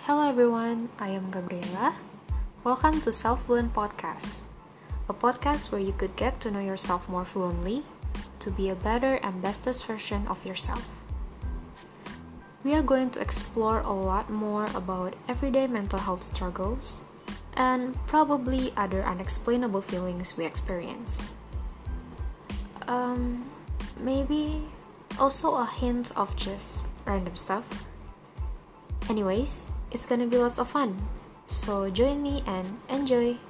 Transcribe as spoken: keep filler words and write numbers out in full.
Hello everyone, I am Gabriela. Welcome to Self Fluent Podcast, a podcast where you could get to know yourself more fluently to be a better and bestest version of yourself. We are going to explore a lot more about everyday mental health struggles and probably other unexplainable feelings we experience. Um, maybe also a hint of just random stuff. Anyways, it's gonna be lots of fun. So join me and enjoy!